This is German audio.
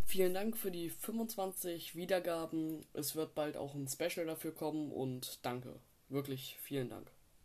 Vielen Dank für die 25 Wiedergaben. Es wird bald auch ein Special dafür kommen und danke. Wirklich vielen Dank.